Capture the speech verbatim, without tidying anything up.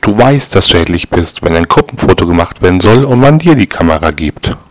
Du weißt, dass du hässlich bist, wenn ein Gruppenfoto gemacht werden soll und man dir die Kamera gibt.